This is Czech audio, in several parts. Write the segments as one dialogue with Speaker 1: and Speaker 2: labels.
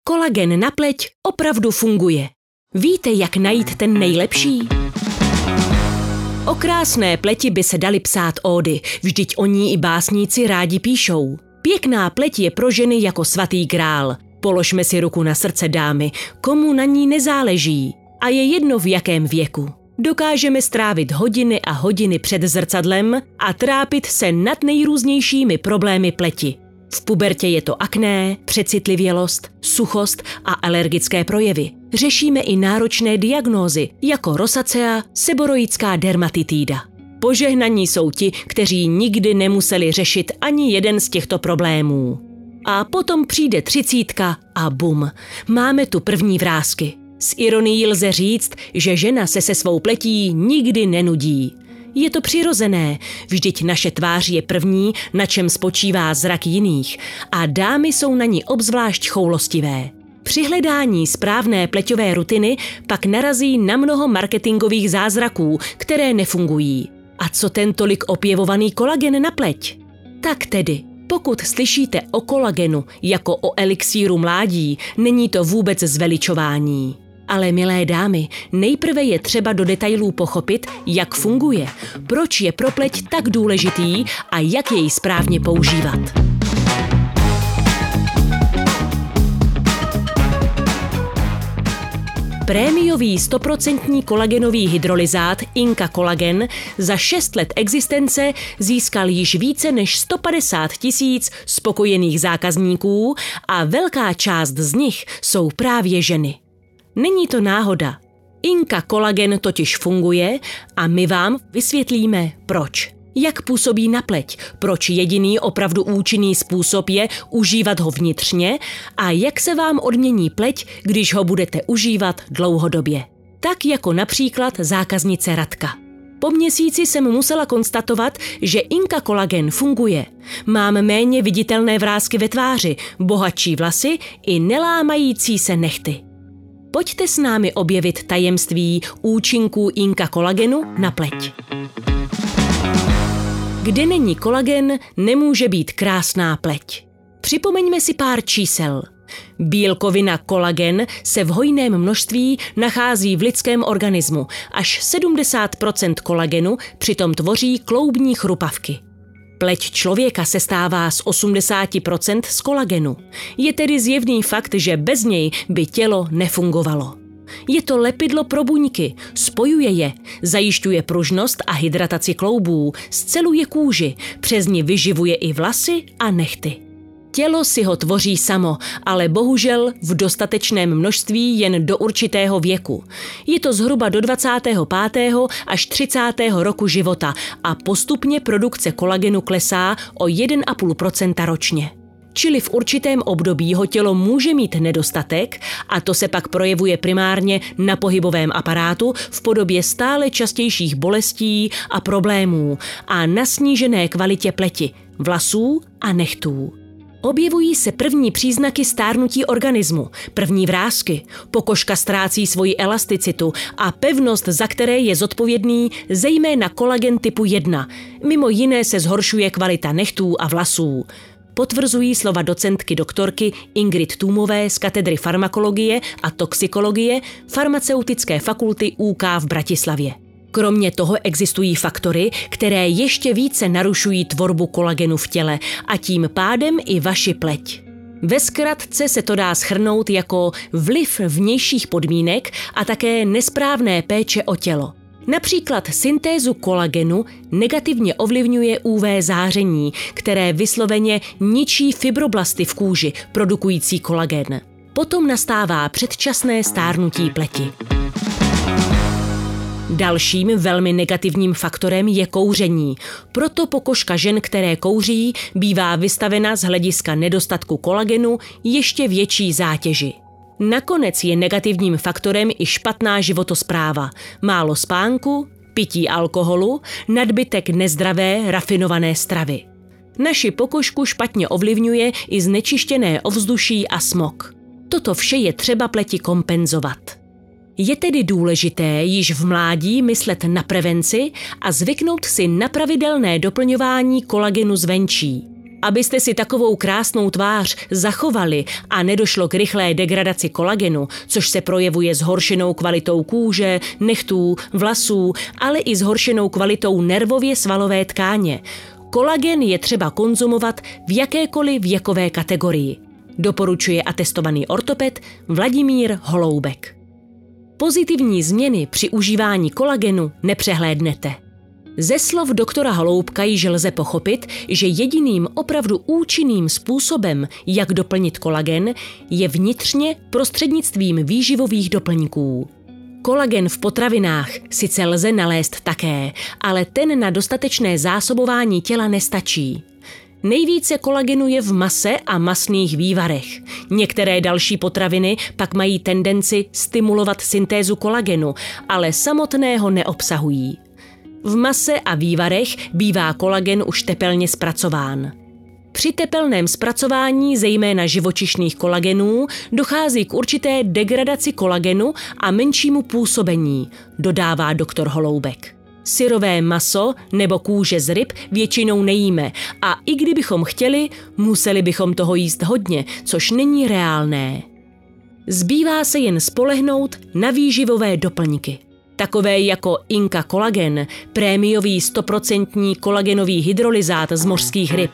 Speaker 1: Kolagen na pleť opravdu funguje. Víte, jak najít ten nejlepší? O krásné pleti by se daly psát ódy, vždyť o ní i básníci rádi píšou. Pěkná pleť je pro ženy jako svatý grál. Položme si ruku na srdce, dámy, komu na ní nezáleží. A je jedno v jakém věku. Dokážeme strávit hodiny a hodiny před zrcadlem a trápit se nad nejrůznějšími problémy pleti. V pubertě je to akné, přecitlivělost, suchost a alergické projevy. Řešíme i náročné diagnózy, jako rosacea, seboroická dermatitída. Požehnaní jsou ti, kteří nikdy nemuseli řešit ani jeden z těchto problémů. A potom přijde 30 a bum, máme tu první vrásky. S ironií lze říct, že žena se svou pletí nikdy nenudí. Je to přirozené, vždyť naše tvář je první, na čem spočívá zrak jiných a dámy jsou na ní obzvlášť choulostivé. Při hledání správné pleťové rutiny pak narazí na mnoho marketingových zázraků, které nefungují. A co ten tolik opěvovaný kolagen na pleť? Tak tedy, pokud slyšíte o kolagenu jako o elixíru mládí, není to vůbec zveličování. Ale milé dámy, nejprve je třeba do detailů pochopit, jak funguje, proč je pro pleť tak důležitý a jak jej správně používat. Prémiový 100% kolagenový hydrolyzát Inka Kolagen za 6 let existence získal již více než 150 000 spokojených zákazníků a velká část z nich jsou právě ženy. Není to náhoda. Inka Kolagen totiž funguje a my vám vysvětlíme proč. Jak působí na pleť, proč jediný opravdu účinný způsob je užívat ho vnitřně a jak se vám odmění pleť, když ho budete užívat dlouhodobě. Tak jako například zákaznice Radka. Po měsíci jsem musela konstatovat, že Inka Kolagen funguje. Mám méně viditelné vrásky ve tváři, bohatší vlasy i nelámající se nehty. Pojďte s námi objevit tajemství účinků Inka Kolagenu na pleť. Kde není kolagen, nemůže být krásná pleť. Připomeňme si pár čísel. Bílkovina kolagen se v hojném množství nachází v lidském organismu. Až 70% kolagenu přitom tvoří kloubní chrupavky. Pleť člověka se stává z 80% z kolagenu. Je tedy zjevný fakt, že bez něj by tělo nefungovalo. Je to lepidlo pro buňky, spojuje je, zajišťuje pružnost a hydrataci kloubů, sceluje kůži, přes ni vyživuje i vlasy a nehty. Tělo si ho tvoří samo, ale bohužel v dostatečném množství jen do určitého věku. Je to zhruba do 25. až 30. roku života a postupně produkce kolagenu klesá o 1,5% ročně. Čili v určitém období ho tělo může mít nedostatek a to se pak projevuje primárně na pohybovém aparátu v podobě stále častějších bolestí a problémů a na snížené kvalitě pleti, vlasů a nehtů. Objevují se první příznaky stárnutí organismu, první vrásky, pokožka ztrácí svoji elasticitu a pevnost, za které je zodpovědný zejména kolagen typu 1. Mimo jiné se zhoršuje kvalita nehtů a vlasů. Potvrzují slova docentky doktorky Ingrid Tůmové z katedry farmakologie a toxikologie Farmaceutické fakulty UK v Bratislavě. Kromě toho existují faktory, které ještě více narušují tvorbu kolagenu v těle a tím pádem i vaši pleť. Ve zkratce se to dá shrnout jako vliv vnějších podmínek a také nesprávné péče o tělo. Například syntézu kolagenu negativně ovlivňuje UV záření, které vysloveně ničí fibroblasty v kůži, produkující kolagen. Potom nastává předčasné stárnutí pleti. Dalším velmi negativním faktorem je kouření. Proto pokožka žen, které kouří, bývá vystavena z hlediska nedostatku kolagenu ještě větší zátěži. Nakonec je negativním faktorem i špatná životospráva, málo spánku, pití alkoholu, nadbytek nezdravé, rafinované stravy. Naši pokožku špatně ovlivňuje i znečištěné ovzduší a smog. Toto vše je třeba pleti kompenzovat. Je tedy důležité již v mládí myslet na prevenci a zvyknout si na pravidelné doplňování kolagenu zvenčí. Abyste si takovou krásnou tvář zachovali a nedošlo k rychlé degradaci kolagenu, což se projevuje zhoršenou kvalitou kůže, nechtů, vlasů, ale i zhoršenou kvalitou nervově svalové tkáně, kolagen je třeba konzumovat v jakékoliv věkové kategorii. Doporučuje atestovaný ortoped Vladimír Holoubek. Pozitivní změny při užívání kolagenu nepřehlédnete. Ze slov doktora Holoubka již lze pochopit, že jediným opravdu účinným způsobem, jak doplnit kolagen, je vnitřně prostřednictvím výživových doplňků. Kolagen v potravinách sice lze nalézt také, ale ten na dostatečné zásobování těla nestačí. Nejvíce kolagenu je v mase a masných vývarech. Některé další potraviny pak mají tendenci stimulovat syntézu kolagenu, ale samotného neobsahují. V mase a vývarech bývá kolagen už tepelně zpracován. Při tepelném zpracování zejména živočišných kolagenů dochází k určité degradaci kolagenu a menšímu působení, dodává doktor Holoubek. Syrové maso nebo kůže z ryb většinou nejíme a i kdybychom chtěli, museli bychom toho jíst hodně, což není reálné. Zbývá se jen spolehnout na výživové doplňky. Takové jako Inka Kolagen, prémiový 100% kolagenový hydrolyzát z mořských ryb.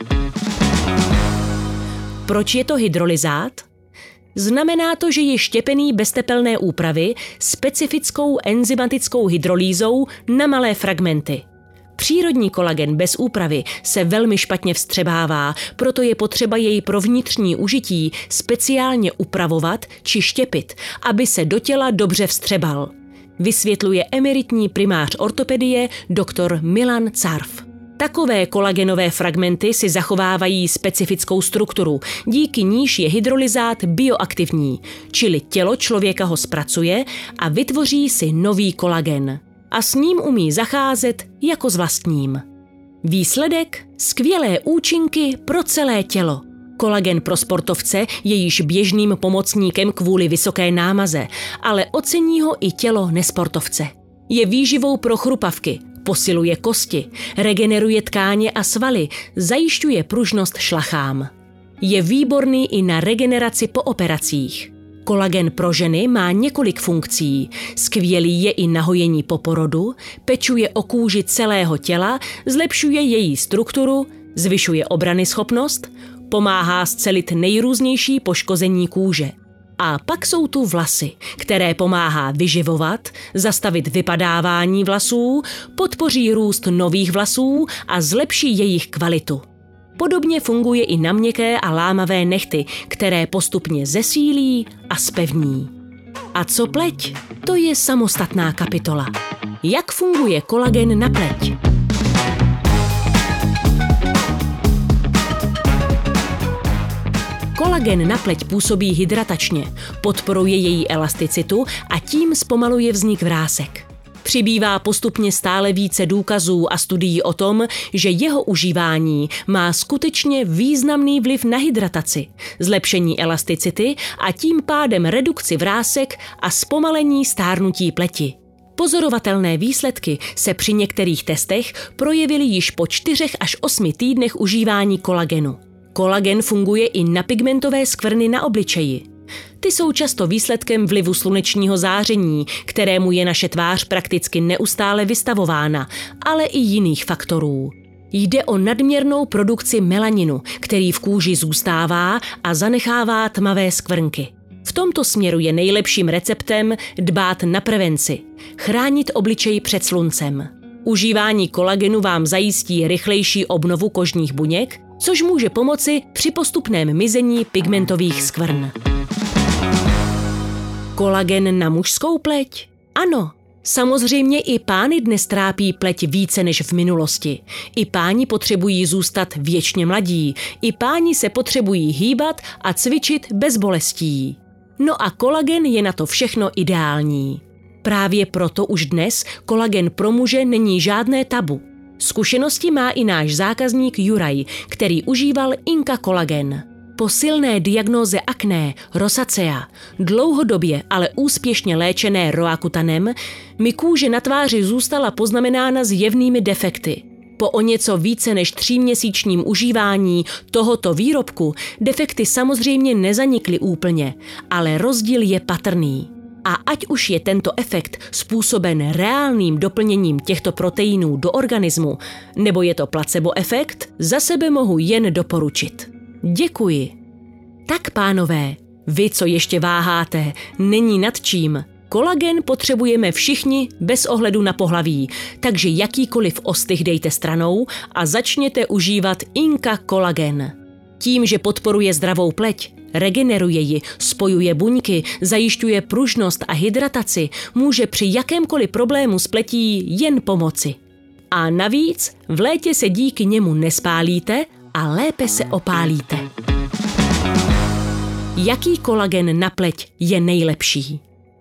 Speaker 1: Proč je to hydrolyzát? Znamená to, že je štěpený bez tepelné úpravy specifickou enzymatickou hydrolýzou na malé fragmenty. Přírodní kolagen bez úpravy se velmi špatně vstřebává, proto je potřeba jej pro vnitřní užití speciálně upravovat či štěpit, aby se do těla dobře vstřebal. Vysvětluje emeritní primář ortopedie dr. Milan Carf. Takové kolagenové fragmenty si zachovávají specifickou strukturu, díky níž je hydrolyzát bioaktivní, čili tělo člověka ho zpracuje a vytvoří si nový kolagen. A s ním umí zacházet jako s vlastním. Výsledek? Skvělé účinky pro celé tělo. Kolagen pro sportovce je již běžným pomocníkem kvůli vysoké námaze, ale ocení ho i tělo nesportovce. Je výživou pro chrupavky, posiluje kosti, regeneruje tkáně a svaly, zajišťuje pružnost šlachám. Je výborný i na regeneraci po operacích. Kolagen pro ženy má několik funkcí. Skvělý je i na hojení po porodu, pečuje o kůži celého těla, zlepšuje její strukturu, zvyšuje obranyschopnost, pomáhá scelit nejrůznější poškození kůže. A pak jsou tu vlasy, které pomáhá vyživovat, zastavit vypadávání vlasů, podpoří růst nových vlasů a zlepší jejich kvalitu. Podobně funguje i na měkké a lámavé nehty, které postupně zesílí a zpevní. A co pleť? To je samostatná kapitola. Jak funguje kolagen na pleť? Kolagen na pleť působí hydratačně, podporuje její elasticitu a tím zpomaluje vznik vrásek. Přibývá postupně stále více důkazů a studií o tom, že jeho užívání má skutečně významný vliv na hydrataci, zlepšení elasticity a tím pádem redukci vrásek a zpomalení stárnutí pleti. Pozorovatelné výsledky se při některých testech projevily již po 4 až 8 týdnech užívání kolagenu. Kolagen funguje i na pigmentové skvrny na obličeji. Ty jsou často výsledkem vlivu slunečního záření, kterému je naše tvář prakticky neustále vystavována, ale i jiných faktorů. Jde o nadměrnou produkci melaninu, který v kůži zůstává a zanechává tmavé skvrnky. V tomto směru je nejlepším receptem dbát na prevenci, chránit obličej před sluncem. Užívání kolagenu vám zajistí rychlejší obnovu kožních buněk, což může pomoci při postupném mizení pigmentových skvrn. Kolagen na mužskou pleť? Ano, samozřejmě i pány dnes trápí pleť více než v minulosti. I páni potřebují zůstat věčně mladí. I páni se potřebují hýbat a cvičit bez bolestí. No a kolagen je na to všechno ideální. Právě proto už dnes kolagen pro muže není žádné tabu. Zkušenosti má i náš zákazník Juraj, který užíval Inka Kolagen. Po silné diagnóze akné, rosacea, dlouhodobě, ale úspěšně léčené roakutanem, mi kůže na tváři zůstala poznamenána zjevnými defekty. Po o něco více než 3měsíčním užívání tohoto výrobku defekty samozřejmě nezanikly úplně, ale rozdíl je patrný. A ať už je tento efekt způsoben reálným doplněním těchto proteinů do organismu, nebo je to placebo efekt, za sebe mohu jen doporučit. Děkuji. Tak pánové, vy, co ještě váháte, není nad čím. Kolagen potřebujeme všichni bez ohledu na pohlaví, takže jakýkoliv ostych dejte stranou a začněte užívat Inka Kolagen. Tím, že podporuje zdravou pleť, regeneruje ji, spojuje buňky, zajišťuje pružnost a hydrataci, může při jakémkoliv problému s pletí jen pomoci. A navíc v létě se díky němu nespálíte a lépe se opálíte. Jaký kolagen na pleť je nejlepší?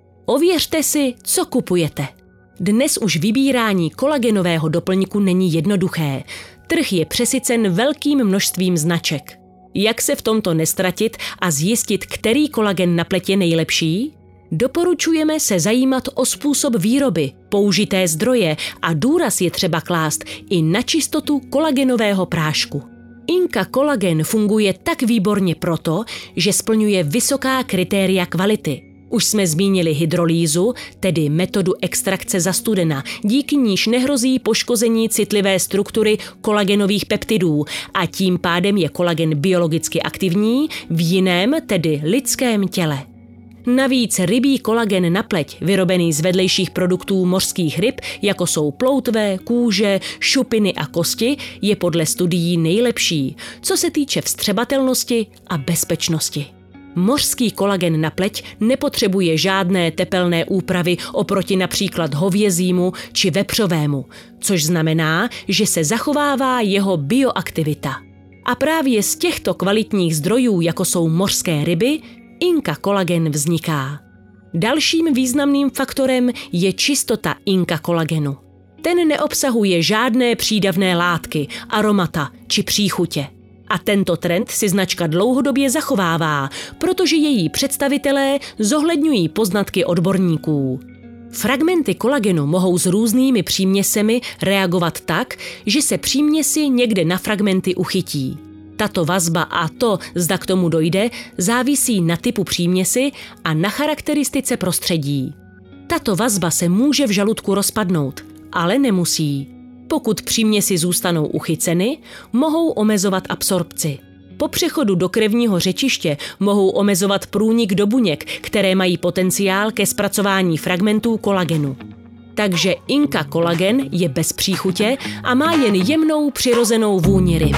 Speaker 1: Ověřte si, co kupujete. Dnes už vybírání kolagenového doplňku není jednoduché. Trh je přesycen velkým množstvím značek. Jak se v tomto nestratit a zjistit, který kolagen na pleť je nejlepší? Doporučujeme se zajímat o způsob výroby, použité zdroje a důraz je třeba klást i na čistotu kolagenového prášku. Inka Kolagen funguje tak výborně proto, že splňuje vysoká kritéria kvality. Už jsme zmínili hydrolýzu, tedy metodu extrakce za studena, díky níž nehrozí poškození citlivé struktury kolagenových peptidů a tím pádem je kolagen biologicky aktivní v jiném, tedy lidském těle. Navíc rybí kolagen na pleť, vyrobený z vedlejších produktů mořských ryb, jako jsou ploutve, kůže, šupiny a kosti, je podle studií nejlepší, co se týče vstřebatelnosti a bezpečnosti. Mořský kolagen na pleť nepotřebuje žádné tepelné úpravy oproti například hovězímu či vepřovému, což znamená, že se zachovává jeho bioaktivita. A právě z těchto kvalitních zdrojů, jako jsou mořské ryby, Inka Kolagen vzniká. Dalším významným faktorem je čistota Inka Kolagenu. Ten neobsahuje žádné přídavné látky, aromata či příchutě. A tento trend si značka dlouhodobě zachovává, protože její představitelé zohledňují poznatky odborníků. Fragmenty kolagenu mohou s různými příměsemi reagovat tak, že se příměsi někde na fragmenty uchytí. Tato vazba a to, zda k tomu dojde, závisí na typu příměsi a na charakteristice prostředí. Tato vazba se může v žaludku rozpadnout, ale nemusí. Pokud příměsi zůstanou uchyceny, mohou omezovat absorpci. Po přechodu do krevního řečiště mohou omezovat průnik do buněk, které mají potenciál ke zpracování fragmentů kolagenu. Takže Inka Kolagen je bez příchutě a má jen jemnou přirozenou vůni ryb.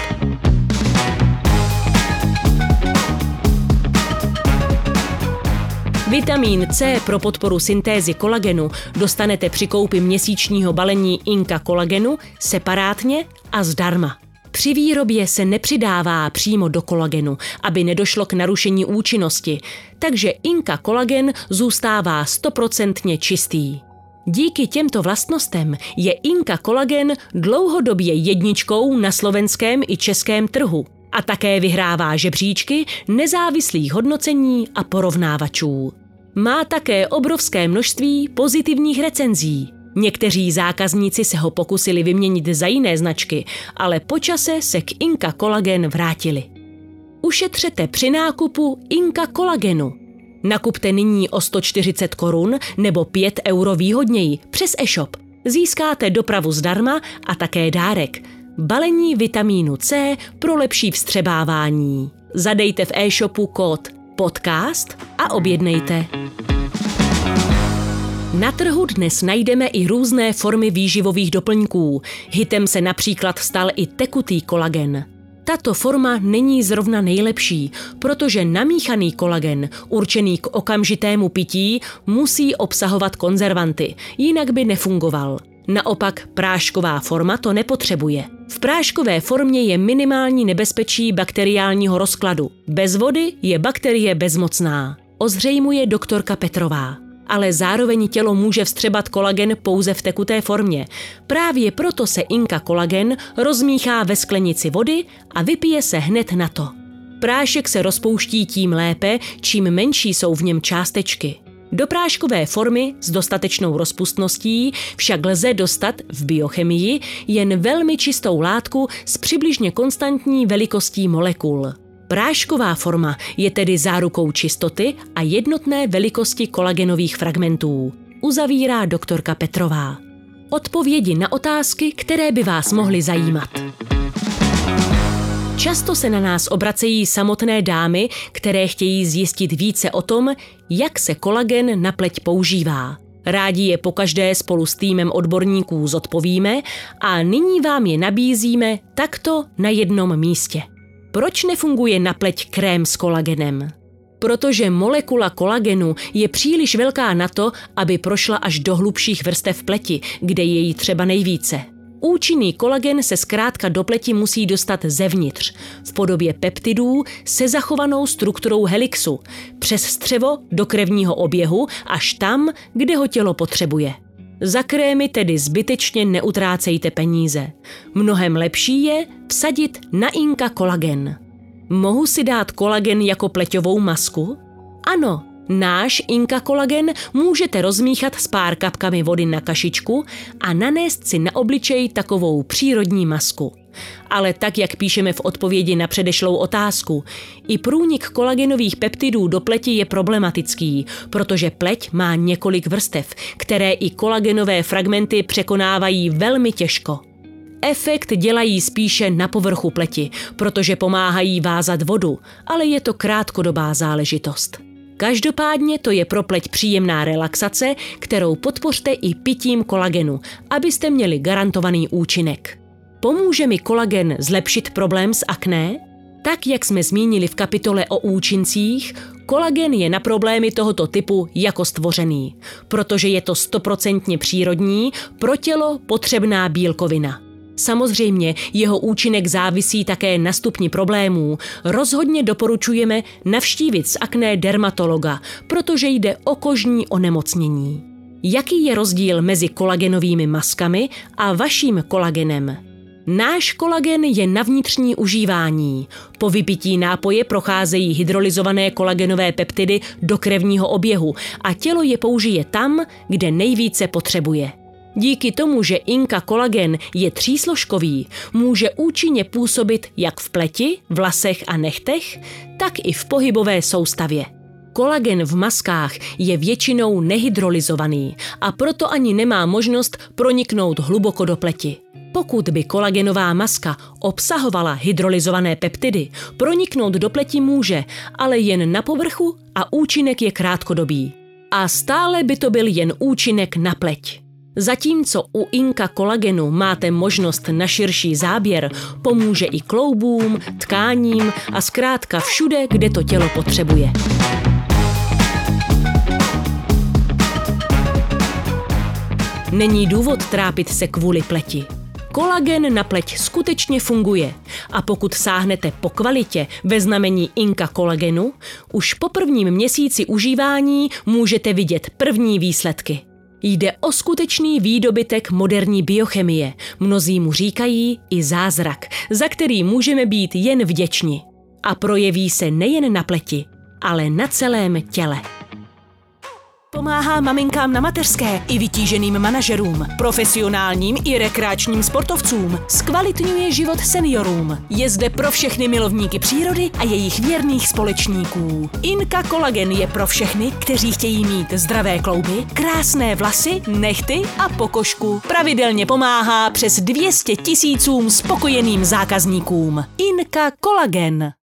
Speaker 1: Vitamín C pro podporu syntézy kolagenu dostanete při koupi měsíčního balení Inka Kolagenu separátně a zdarma. Při výrobě se nepřidává přímo do kolagenu, aby nedošlo k narušení účinnosti, takže Inka Kolagen zůstává 100% čistý. Díky těmto vlastnostem je Inka Kolagen dlouhodobě jedničkou na slovenském i českém trhu a také vyhrává žebříčky nezávislých hodnocení a porovnávačů. Má také obrovské množství pozitivních recenzí. Někteří zákazníci se ho pokusili vyměnit za jiné značky, ale po čase se k Inka Kolagen vrátili. Ušetřete při nákupu Inka Kolagenu. Nakupte nyní o 140 korun nebo 5 euro výhodněji přes e-shop. Získáte dopravu zdarma a také dárek. Balení vitamínu C pro lepší vstřebávání. Zadejte v e-shopu kód podcast a objednejte. Na trhu dnes najdeme i různé formy výživových doplňků. Hitem se například stal i tekutý kolagen. Tato forma není zrovna nejlepší, protože namíchaný kolagen, určený k okamžitému pití, musí obsahovat konzervanty, jinak by nefungoval. Naopak prášková forma to nepotřebuje. V práškové formě je minimální nebezpečí bakteriálního rozkladu. Bez vody je bakterie bezmocná, ozřejmuje doktorka Petrová. Ale zároveň tělo může vstřebat kolagen pouze v tekuté formě. Právě proto se Inka Kolagen rozmíchá ve sklenici vody a vypije se hned na to. Prášek se rozpouští tím lépe, čím menší jsou v něm částečky. Do práškové formy s dostatečnou rozpustností však lze dostat v biochemii jen velmi čistou látku s přibližně konstantní velikostí molekul. Prášková forma je tedy zárukou čistoty a jednotné velikosti kolagenových fragmentů, uzavírá doktorka Petrová. Odpovědi na otázky, které by vás mohly zajímat. Často se na nás obracejí samotné dámy, které chtějí zjistit více o tom, jak se kolagen na pleť používá. Rádi je pokaždé spolu s týmem odborníků zodpovíme a nyní vám je nabízíme takto na jednom místě. Proč nefunguje na pleť krém s kolagenem? Protože molekula kolagenu je příliš velká na to, aby prošla až do hlubších vrstev pleti, kde je jí třeba nejvíce. Účinný kolagen se zkrátka do pleti musí dostat zevnitř, v podobě peptidů se zachovanou strukturou helixu, přes střevo do krevního oběhu až tam, kde ho tělo potřebuje. Za krémy tedy zbytečně neutrácejte peníze. Mnohem lepší je vsadit na Inka kolagen. Mohu si dát kolagen jako pleťovou masku? Ano, náš Inka kolagen můžete rozmíchat s pár kapkami vody na kašičku a nanést si na obličej takovou přírodní masku. Ale tak, jak píšeme v odpovědi na předešlou otázku, i průnik kolagenových peptidů do pleti je problematický, protože pleť má několik vrstev, které i kolagenové fragmenty překonávají velmi těžko. Efekt dělají spíše na povrchu pleti, protože pomáhají vázat vodu, ale je to krátkodobá záležitost. Každopádně to je pro pleť příjemná relaxace, kterou podpořte i pitím kolagenu, abyste měli garantovaný účinek. Pomůže mi kolagen zlepšit problém s akné? Tak, jak jsme zmínili v kapitole o účincích, kolagen je na problémy tohoto typu jako stvořený, protože je to 100% přírodní, pro tělo potřebná bílkovina. Samozřejmě jeho účinek závisí také na stupni problémů. Rozhodně doporučujeme navštívit s akné dermatologa, protože jde o kožní onemocnění. Jaký je rozdíl mezi kolagenovými maskami a vaším kolagenem? Náš kolagen je na vnitřní užívání. Po vypití nápoje procházejí hydrolyzované kolagenové peptidy do krevního oběhu a tělo je použije tam, kde nejvíce potřebuje. Díky tomu, že Inka kolagen je třísložkový, může účinně působit jak v pleti, vlasech a nechtech, tak i v pohybové soustavě. Kolagen v maskách je většinou nehydrolyzovaný a proto ani nemá možnost proniknout hluboko do pleti. Pokud by kolagenová maska obsahovala hydrolyzované peptidy, proniknout do pleti může, ale jen na povrchu a účinek je krátkodobý. A stále by to byl jen účinek na pleť. Zatímco u Inka kolagenu máte možnost na širší záběr, pomůže i kloubům, tkáním a zkrátka všude, kde to tělo potřebuje. Není důvod trápit se kvůli pleti. Kolagen na pleť skutečně funguje a pokud sáhnete po kvalitě ve znamení Inka kolagenu, už po prvním měsíci užívání můžete vidět první výsledky. Jde o skutečný výdobytek moderní biochemie, mnozí mu říkají i zázrak, za který můžeme být jen vděční. A projeví se nejen na pleti, ale na celém těle. Pomáhá maminkám na mateřské i vytíženým manažerům, profesionálním i rekreačním sportovcům, zkvalitňuje život seniorům. Je zde pro všechny milovníky přírody a jejich věrných společníků. Inka kolagen je pro všechny, kteří chtějí mít zdravé klouby, krásné vlasy, nehty a pokožku. Pravidelně pomáhá přes 200 000 spokojeným zákazníkům. Inka kolagen.